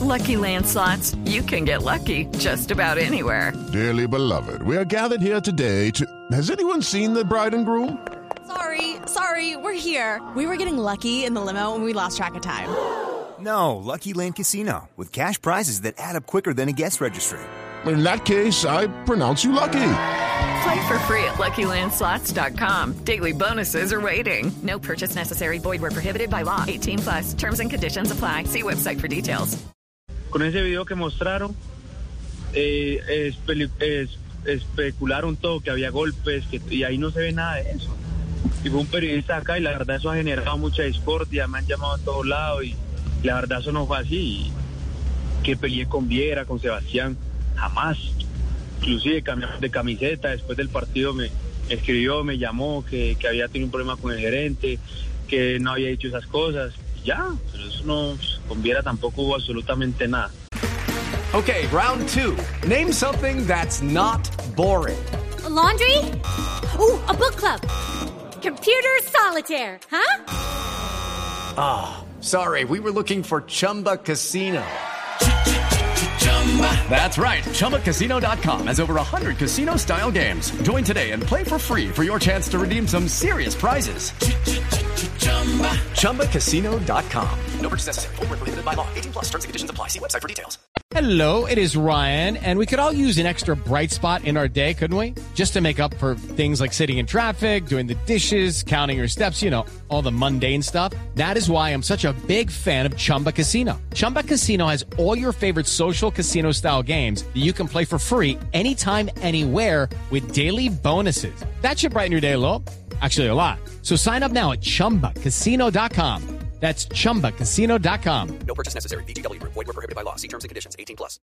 Lucky Land Slots, you can get lucky just about anywhere. Dearly beloved, we are gathered here today to... Has anyone seen the bride and groom? Sorry, we're here. We were getting lucky in the limo and we lost track of time. No, Lucky Land Casino, with cash prizes that add up quicker than a guest registry. In that case, I pronounce you lucky. Play for free at LuckyLandSlots.com. Daily bonuses are waiting. No purchase necessary. Void where prohibited by law. 18+. Terms and conditions apply. See website for details. Con ese video que mostraron, especularon todo, que había golpes, y ahí no se ve nada de eso. Y fue un periodista acá y la verdad eso ha generado mucha discordia, me han llamado a todos lados y la verdad eso no fue así. Que peleé con Viera, con Sebastián, jamás. Inclusive cambiamos de camiseta, después del partido me escribió, me llamó, que había tenido un problema con el gerente, que no había dicho esas cosas. Ya, pero eso no, con Viera tampoco hubo absolutamente nada. Okay, round two. Name something that's not boring. A laundry? Ooh, a book club. Computer solitaire, huh? Ah, sorry, we were looking for Chumba Casino. That's right, ChumbaCasino.com has over 100 casino-style games. Join today and play for free for your chance to redeem some serious prizes. ChumbaCasino.com. No purchase necessary. Void where prohibited by law. 18+. Terms and conditions apply. See website for details. Hello, it is Ryan, and we could all use an extra bright spot in our day, couldn't we? Just to make up for things like sitting in traffic, doing the dishes, counting your steps, all the mundane stuff. That is why I'm such a big fan of Chumba Casino. Chumba Casino has all your favorite social casino-style games that you can play for free anytime, anywhere with daily bonuses. That should brighten your day a little. Actually, a lot. So sign up now at ChumbaCasino.com. That's ChumbaCasino.com. No purchase necessary. VGW Group. Void where prohibited by law. See terms and conditions. 18+.